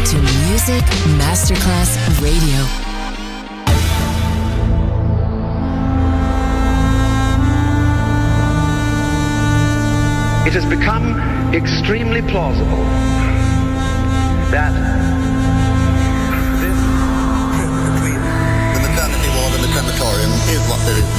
to Music Masterclass Radio. It has become extremely plausible that this trip between the maternity ward and the crematorium is what there is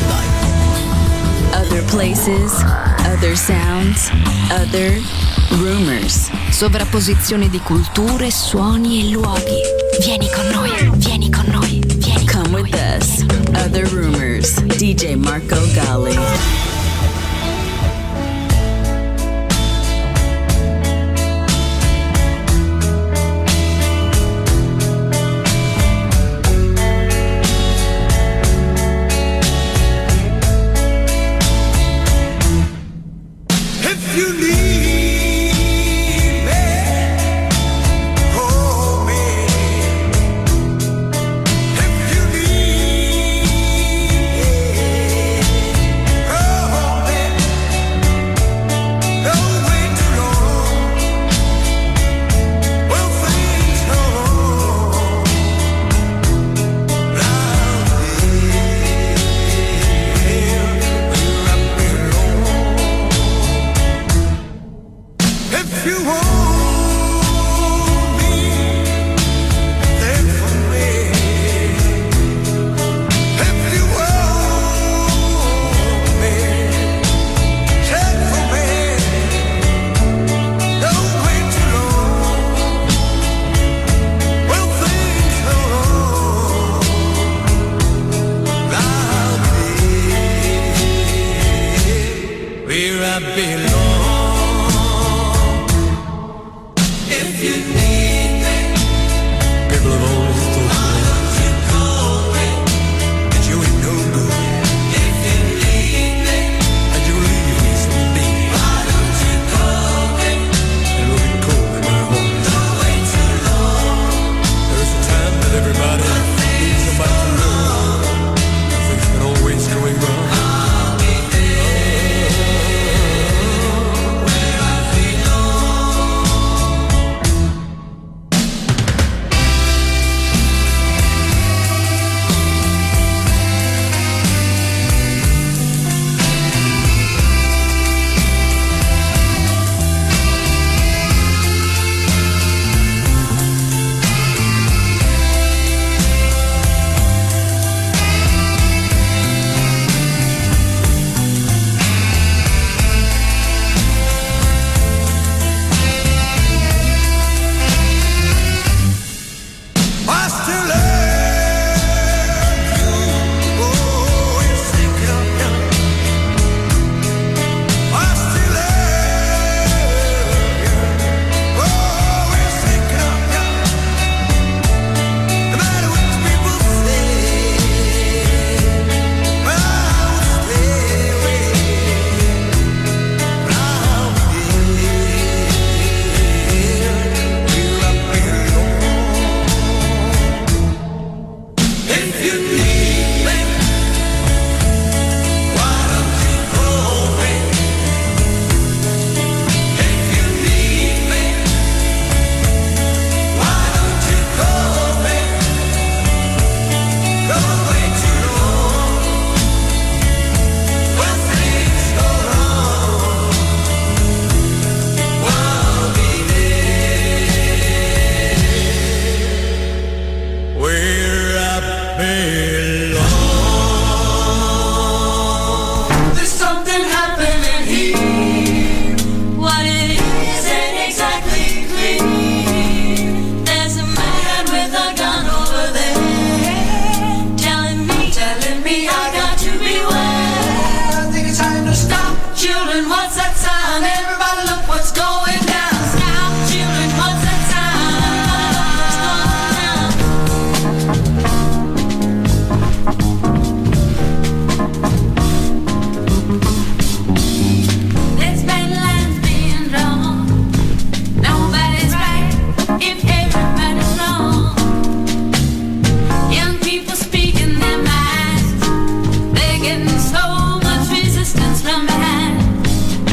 tonight. Other places, other sounds, other rumors. Sovrapposizione di culture, suoni e luoghi. Vieni con noi, vieni con noi, vieni. Come with us. Other Rumors. DJ Marco Gally.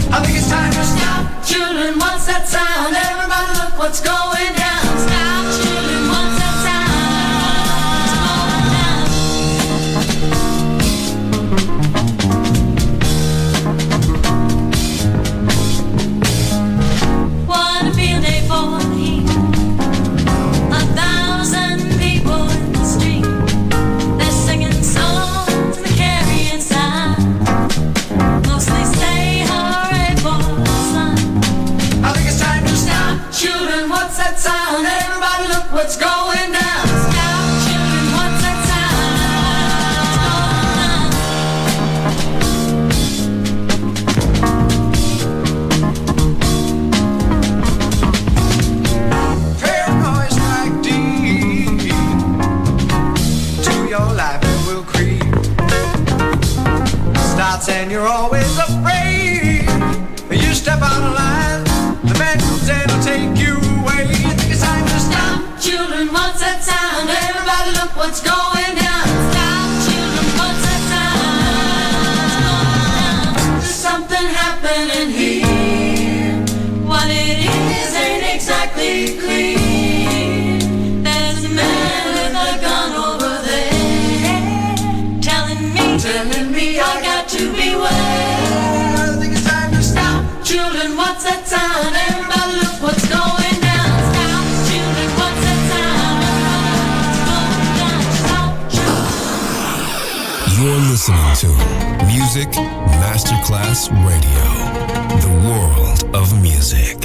What's going down? Stop. take you away. I think it's time to stop. Children, what's that sound? Everybody look what's going down. Stop, children, what's that sound? There's something happening here. What it is ain't exactly clear. There's a man with a gun over there, telling me I got to beware. I think it's time to stop. Children, what's that sound? Everybody look what's going down. Stop, children, what's that sound? Everybody look what's going down. Stop, children. You're listening to Music Masterclass Radio, the world of music.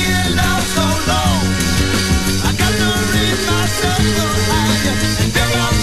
And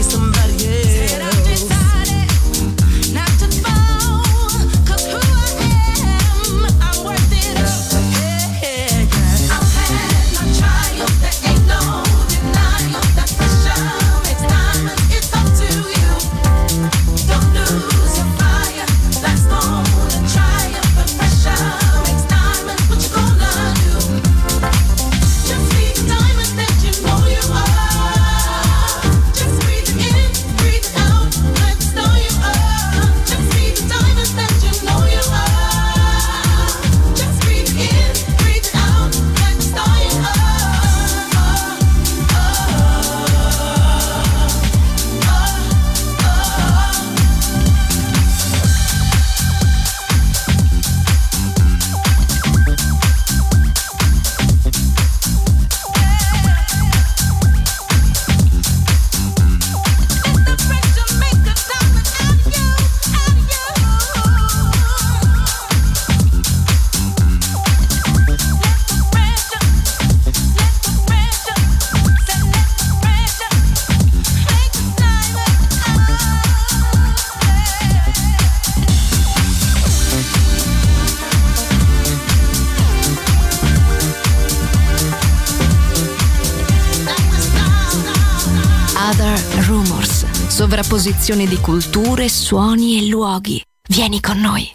Sovrapposizione di culture, suoni e luoghi. Vieni con noi.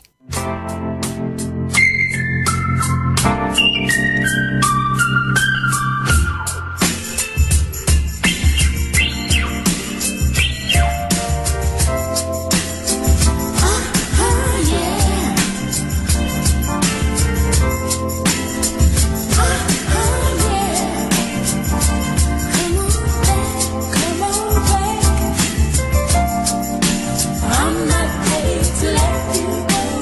I'm not ready to let you go.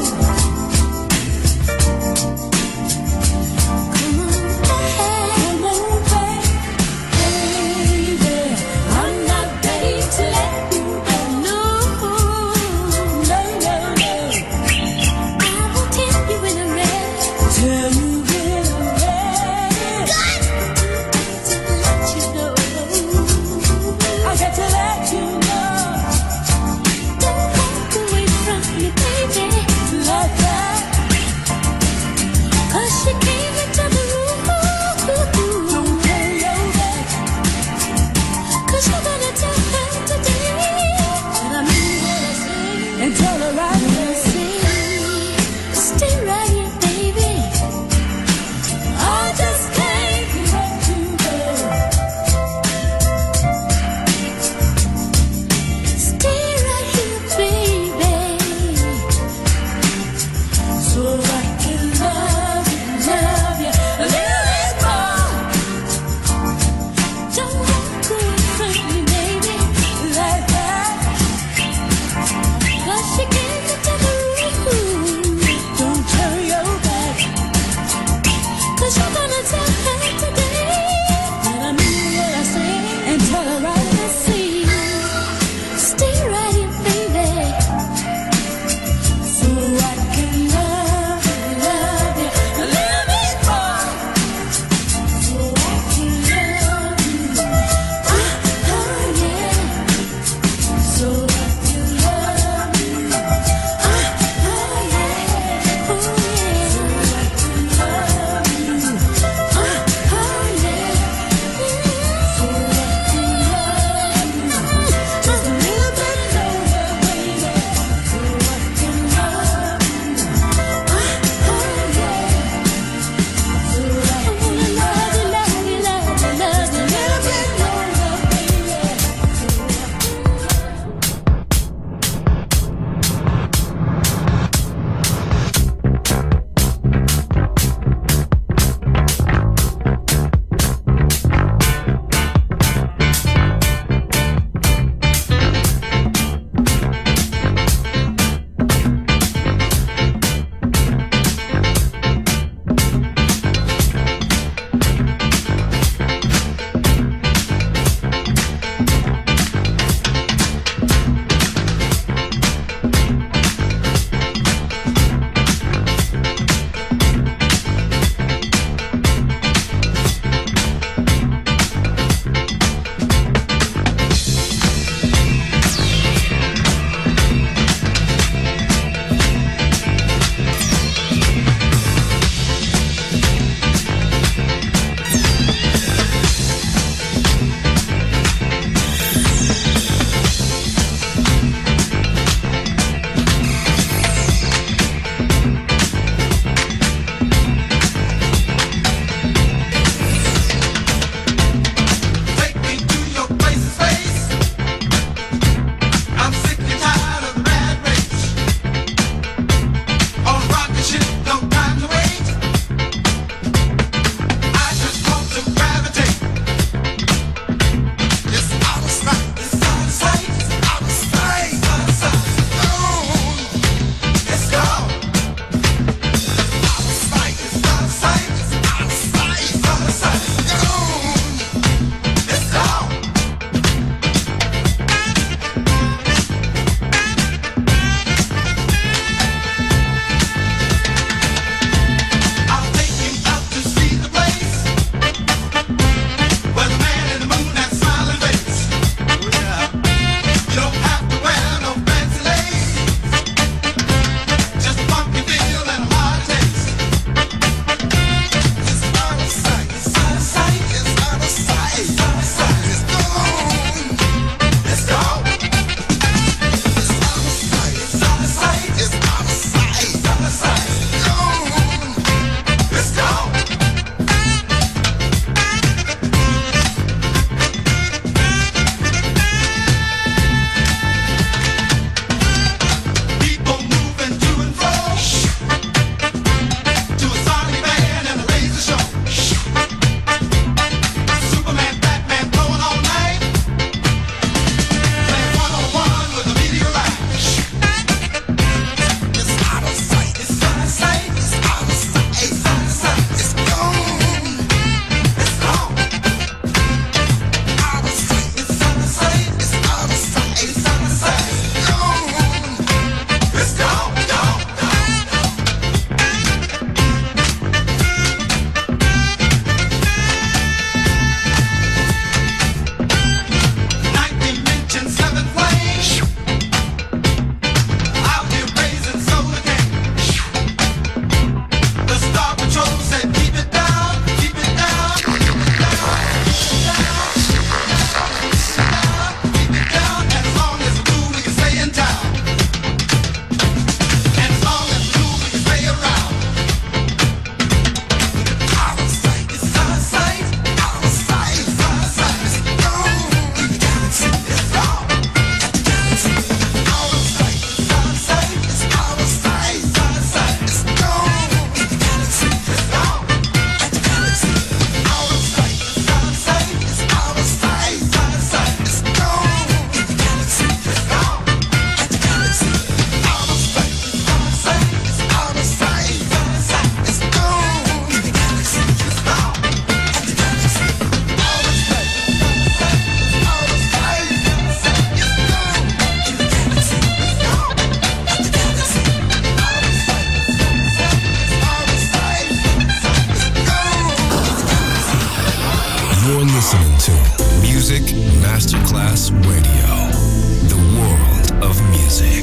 Music Masterclass Radio. The world of music.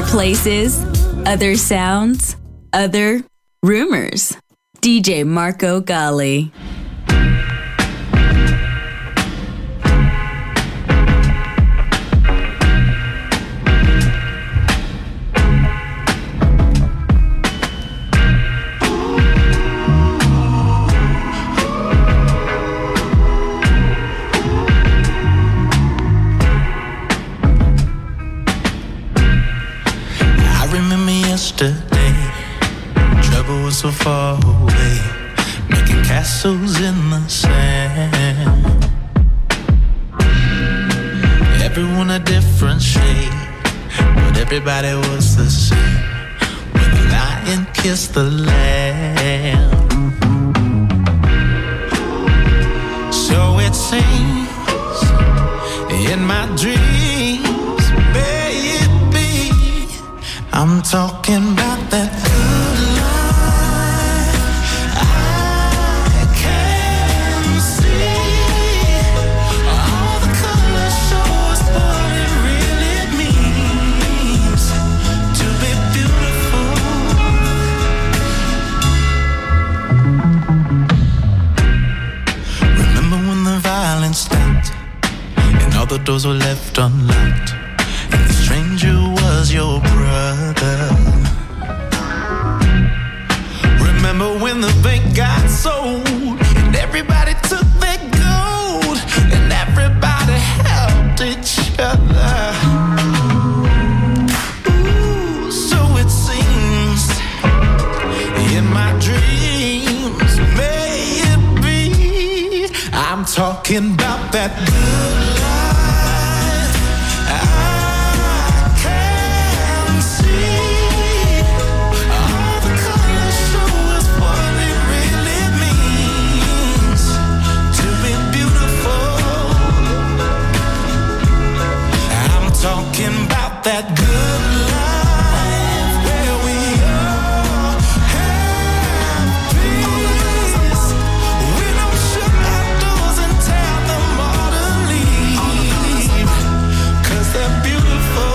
places, other sounds, other rumors. DJ Marco Gally. Yesterday, trouble was so far away, making castles in the sand. Everyone a different shade, but everybody was the same when the lion kissed the lamb. So it seems in my dreams, baby, I'm talking about that good life. I can see all the colors show us what it really means to be beautiful. Remember when the violence stopped and all the doors were left unlocked, and the stranger was your brother. Remember when the bank got sold and everybody took their gold and everybody helped each other. Ooh, so it seems in my dreams, may it be, I'm talking about that good life. Talking about that good life where we all have peace. We don't shut our doors and tell them all to leave, 'cause they're beautiful.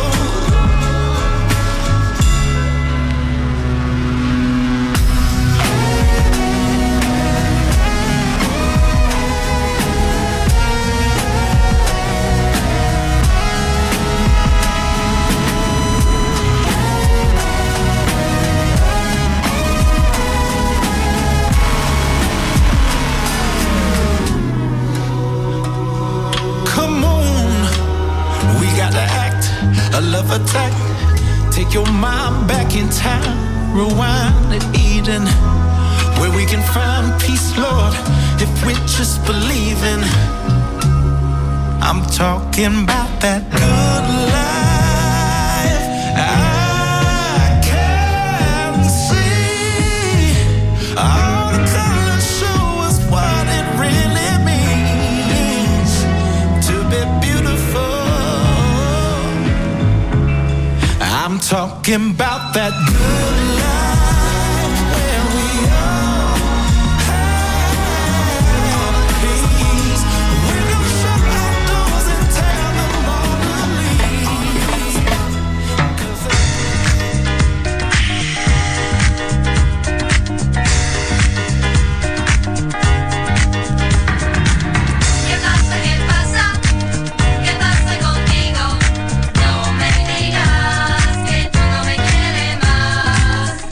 A love attack, take your mind back in time, rewind to Eden, where we can find peace, Lord, if we just believe in. I'm talking about that good life. I can see all the colors show us what it really means to be beautiful. I'm talking about that good life where we all have peace. We don't shut our doors and tell them all to leave. 'Cause ¿Qué pasa? ¿Qué pasa? ¿Qué pasa contigo? No me digas que tú no me quieres más.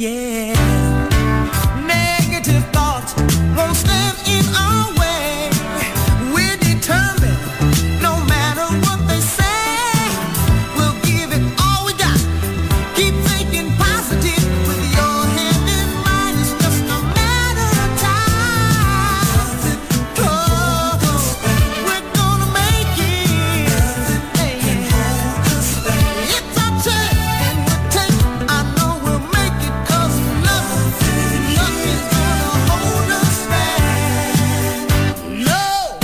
yeah. Negative thoughts won't stand in our way. We're determined, no matter what they say, we'll give it all we got. Keep thinking positive with your hand in mine. It's just a matter of time. Oh, we're gonna make it. Hey, it's our chance and we'll take. I know we'll make it 'cause nothing's gonna hold us back. No.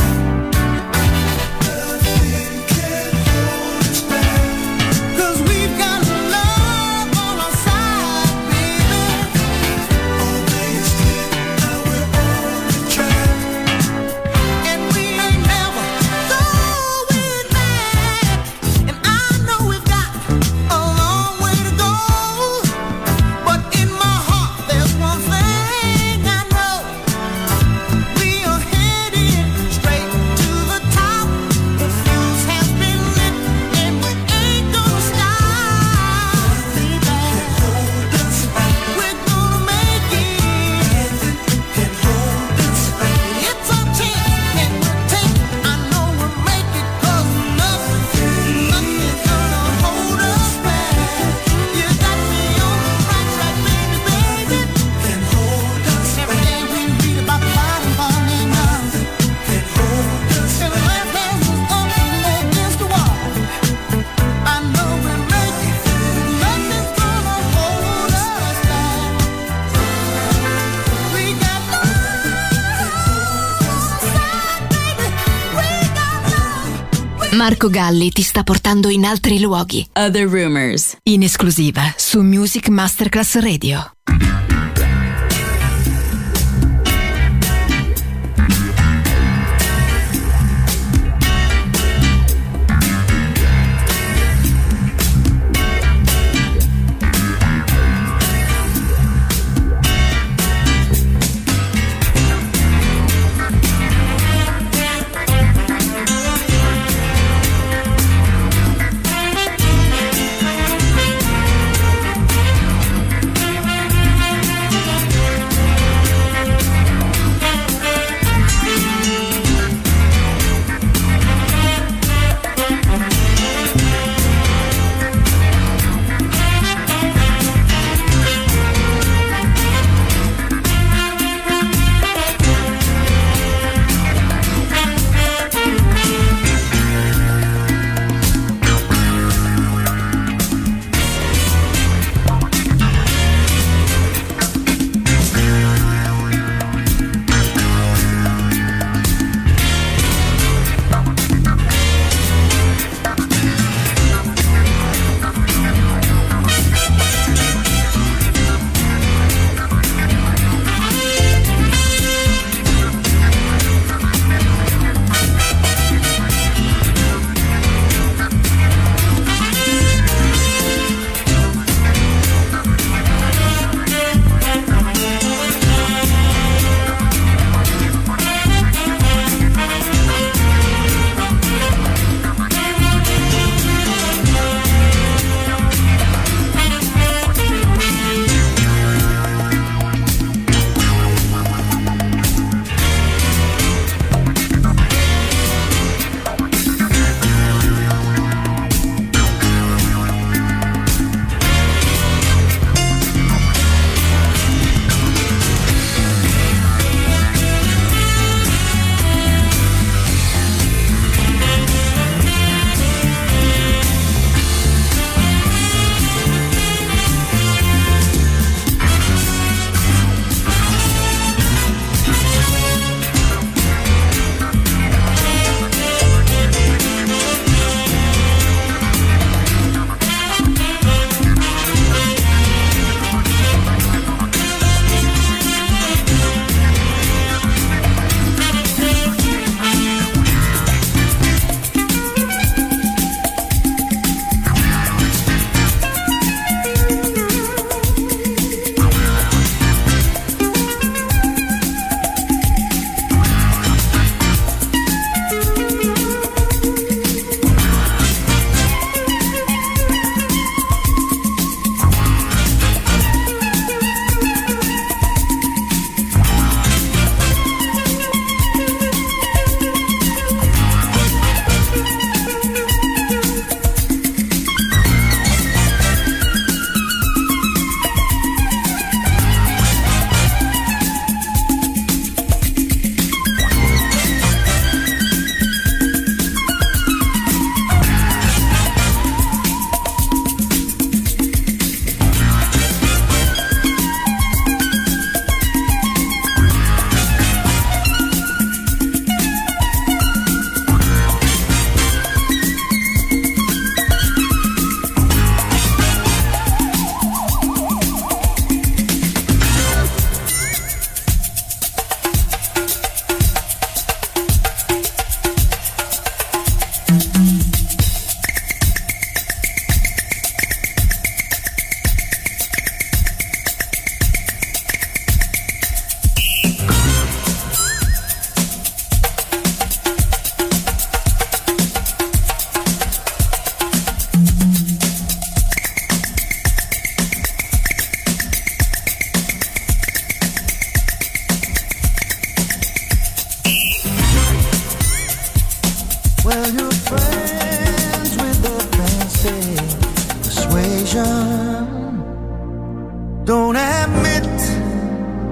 Nothing can hold us back. 'Cause we've got love on our side, baby. Always did, now we're on the track. And we ain't never going back. And I know we've got a long way to go. But in my heart there's one thing I know. We are headed straight to the top. The fuse has been lit and we ain't gonna stop. Baby, hold us back. We're gonna make it. Nothing can hold us back. It's our chance and we'll take. I know we'll make it 'cause nothing's gonna hold us back. You got me on the right track, baby, baby. Can hold us back. Every day we read about the bottom falling down. Can hold us back. Every last hand was up against the wall. I know we'll make it. Nothing's gonna hold us back. We got love inside, baby. We got love. Marco Galli ti sta portando in altri luoghi. Other Rumors, in esclusiva su Music Masterclass Radio.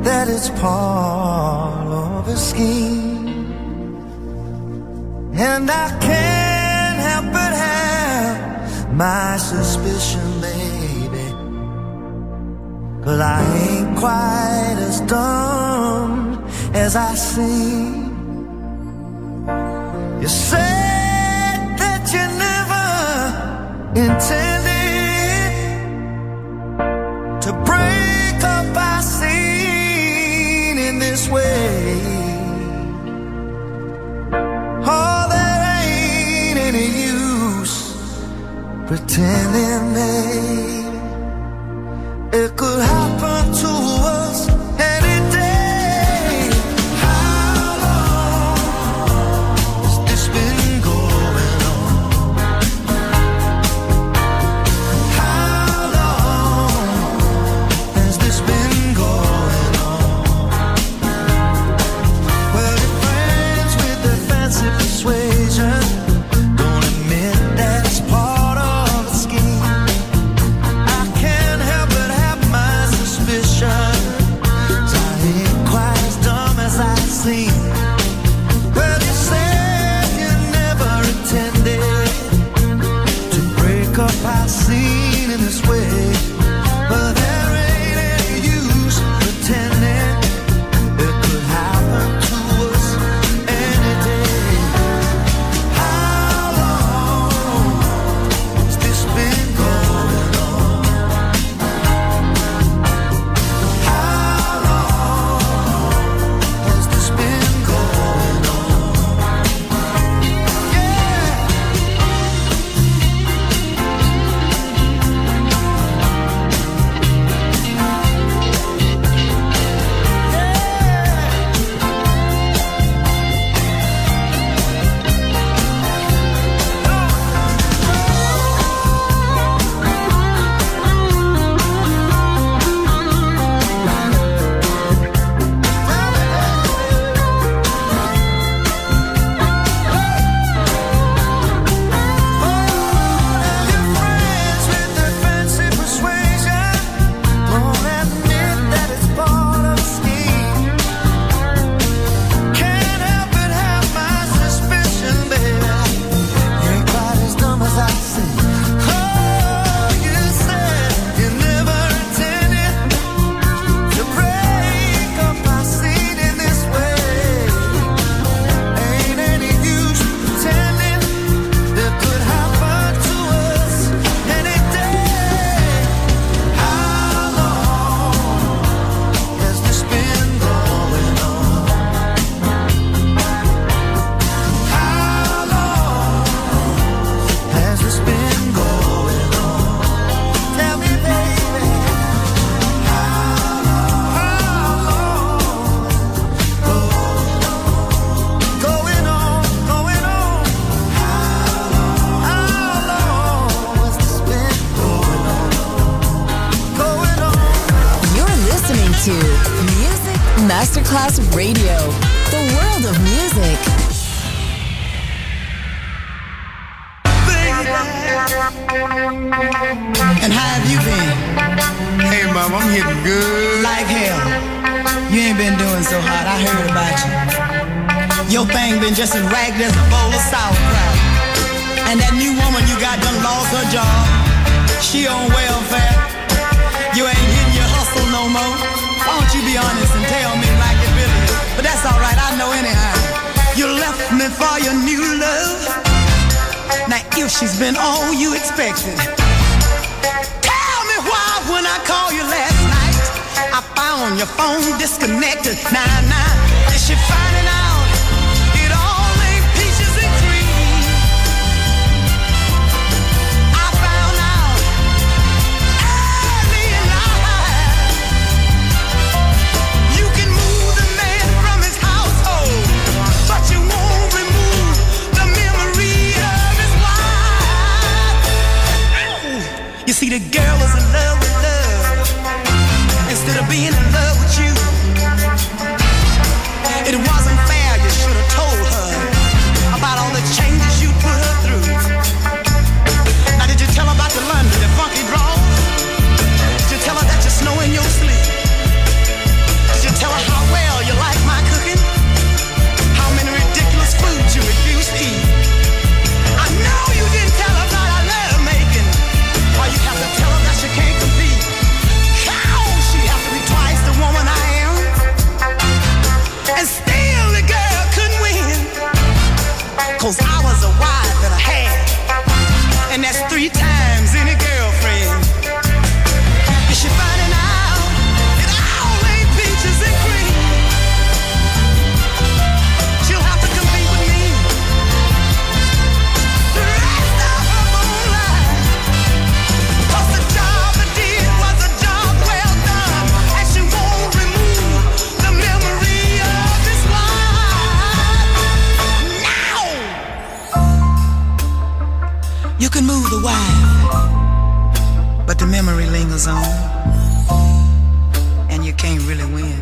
that it's part of a scheme, and I can't help but have my suspicion, baby, 'cause I ain't quite as dumb as I seem. You said that you never intended to break up our scene in this way. Oh, there ain't any use pretending, baby, it could happen to us any day. How long has this been going on? How long has this been going on? Well, your friends with their fancy persuasion don't admit that it's part of a scheme. I can't help but have my suspicions. I ain't quite as dumb as I seem. Well, you said you never intended to break up our scene in this way, but there ain't any use pretending it could happen to us any day. How long has this been going on? How long has this been going on? Yeah. Your friends with their fancy persuasion don't admit that it's part of a scheme. Can't help but have my suspicion, baby. You ain't quite as dumb as I seem. Oh, you said you never intended to break up our scene in this way. Ain't any use pretending that could happen to us any day. How long has this been going on? How long has this been going on? Tell me, baby. How long going on? How long has this been going on? You're listening to Music Masterclass Radio, the world of music. And how have you been? Hey, Mom, I'm hitting good. Like hell. You ain't been doing so hot. I heard about you. Your thing been just as ragged as a bowl of sauerkraut. And that new woman you got done lost her job. She on welfare. You ain't hitting your hustle no more. Why don't you be honest and tell me like it really is? But that's alright, I know anyhow. You left me for your new love. Now if she's been all you expected, tell me why when I called you last night I found your phone disconnected. Nah, is she finding out it all ain't peaches and cream? I found out early in life you can move the man from his household, but you won't remove the memory of his wife. You see, the girl was in love with love instead of being in love with you. It wasn't can move the wife, but the memory lingers on, and you can't really win.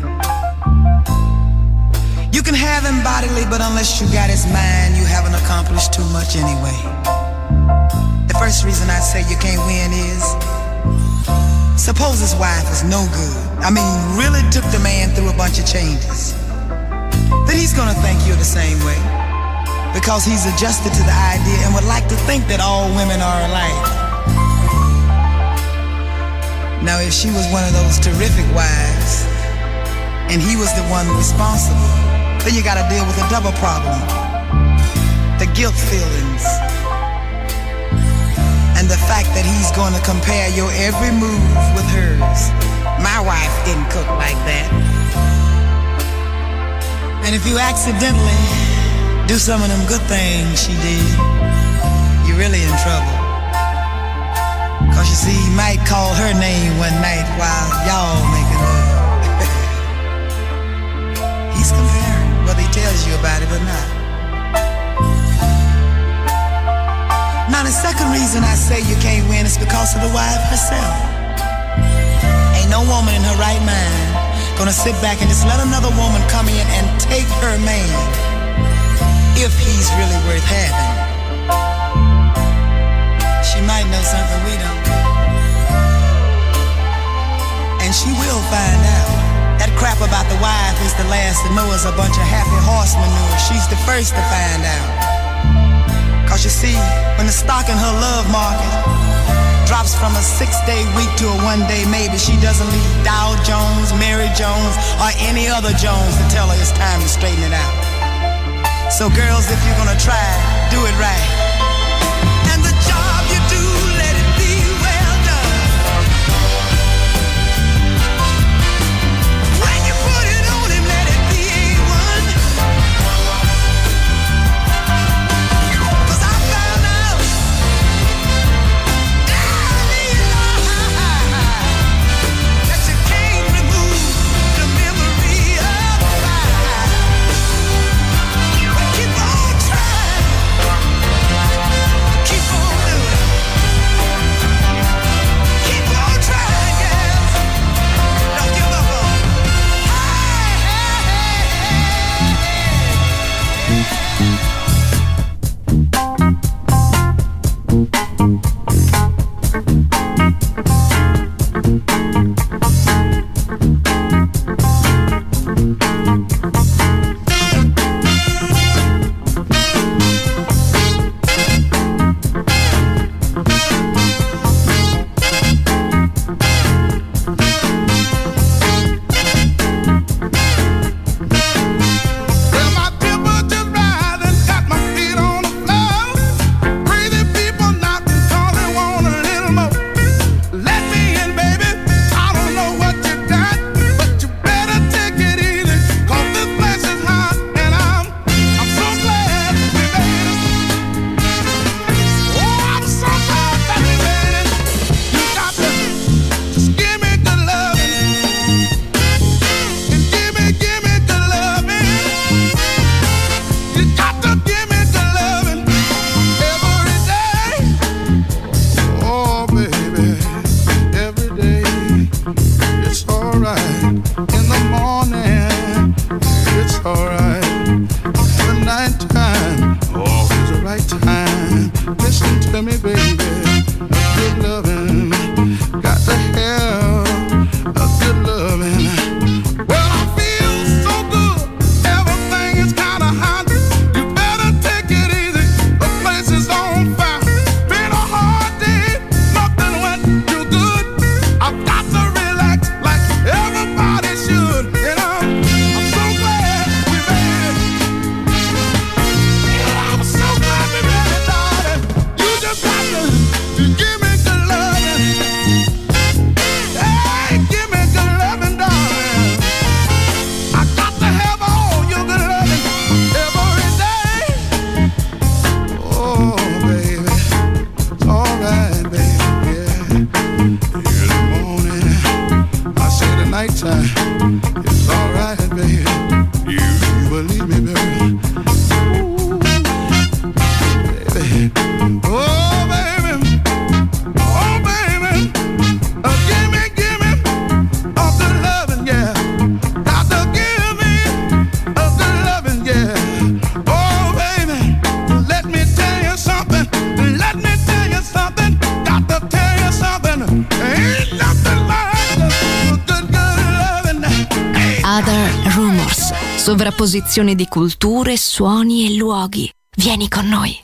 You can have him bodily, but unless you got his mind, you haven't accomplished too much anyway. The first reason I say you can't win is, suppose his wife is no good. I mean, really took the man through a bunch of changes. Then he's gonna think you're the same way, because he's adjusted to the idea and would like to think that all women are alike. Now, if she was one of those terrific wives, and he was the one responsible, then you gotta deal with a double problem. The guilt feelings, and the fact that he's gonna compare your every move with hers. My wife didn't cook like that. And if you accidentally do some of them good things she did, you're really in trouble. Cause you see, he might call her name one night while y'all making love. He's comparing, whether he tells you about it or not. Now the second reason I say you can't win is because of the wife herself. Ain't no woman in her right mind gonna sit back and just let another woman come in and take her man if he's really worth having. She might know something we don't, and she will find out. That crap about the wife is the last to know is a bunch of happy horse manure. She's the first to find out. Cause you see, when the stock in her love market drops from a 6-day week to a 1-day maybe, she doesn't leave Dow Jones, Mary Jones, or any other Jones to tell her it's time to straighten it out. So girls, if you're gonna try, do it right. And the job you do, let it be well done. When you put it on him, let it be A1. Cause I found out that you can't remove the memory of fire. Keep on trying. Keep on doing. Keep on trying, girls. Don't give up on it. Well, my temper just rising, got my feet on the floor. Crazy people knocking 'cause they want a little more. Let me in, baby. I don't know what you got, but you better take it easy, 'cause this place is hot, and I'm so glad we made it. Oh, I'm so glad that we made it. You got to just give me good loving, and give me good loving. You got to give me good loving every day. Oh, baby, every day. It's alright in the morning. It's alright in the nighttime. Always the right time. Listen to me, baby. Good loving. Got to have a good loving. Well, I feel so good. Everything is kinda hot. You better take it easy. The place is on fire. Been a hard day. Nothing went too good. I've got to relax like everybody should. And I'm so glad we made it. I'm so glad we made it, darling. You just got to give me good loving. Hey, give me good loving, darling. I got to have all your good loving every day. Oh, baby, it's alright, baby. Yeah. In the morning, I say the nighttime, it's alright, baby. You believe me, baby. Ooh, baby. Oh, baby, Other Rumors, sovrapposizione di culture, suoni e luoghi. Vieni con noi.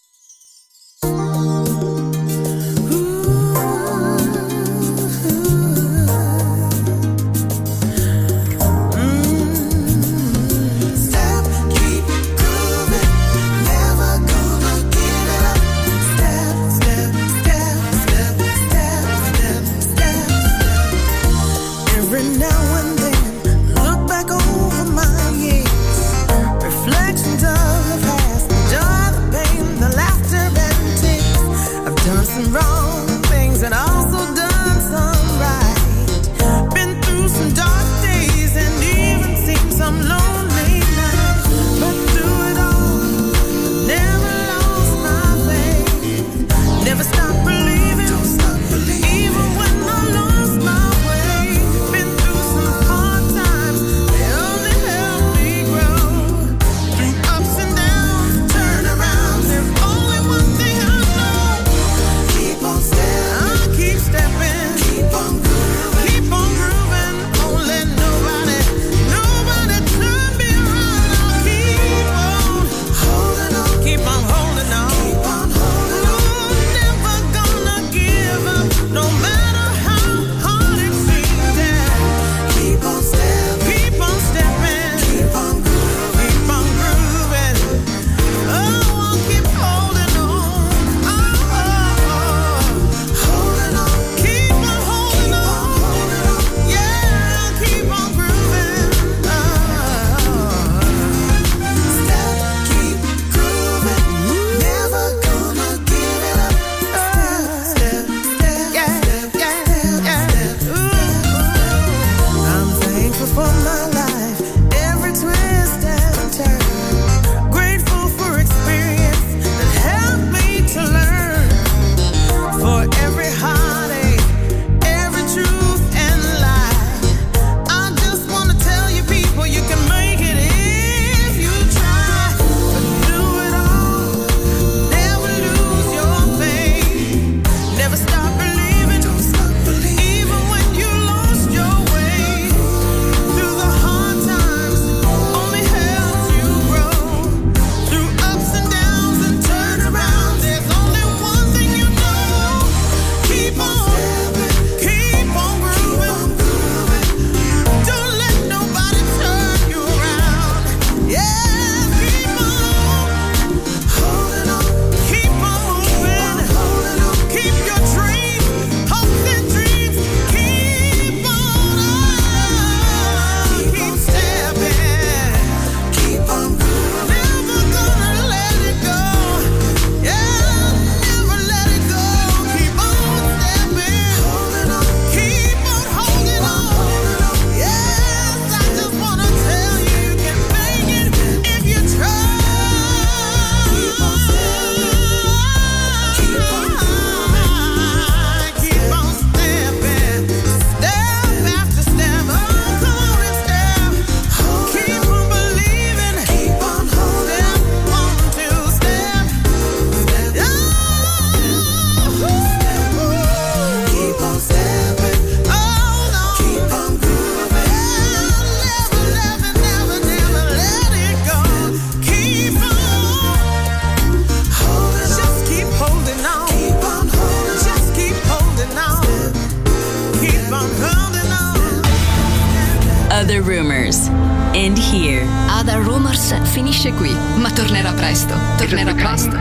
Other Rumors. End here. Other Rumors finisce qui, ma tornerà presto. Tornerà presto.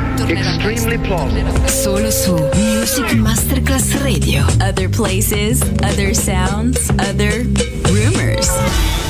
Solo su Music Masterclass Radio. Other places, other sounds, other rumors.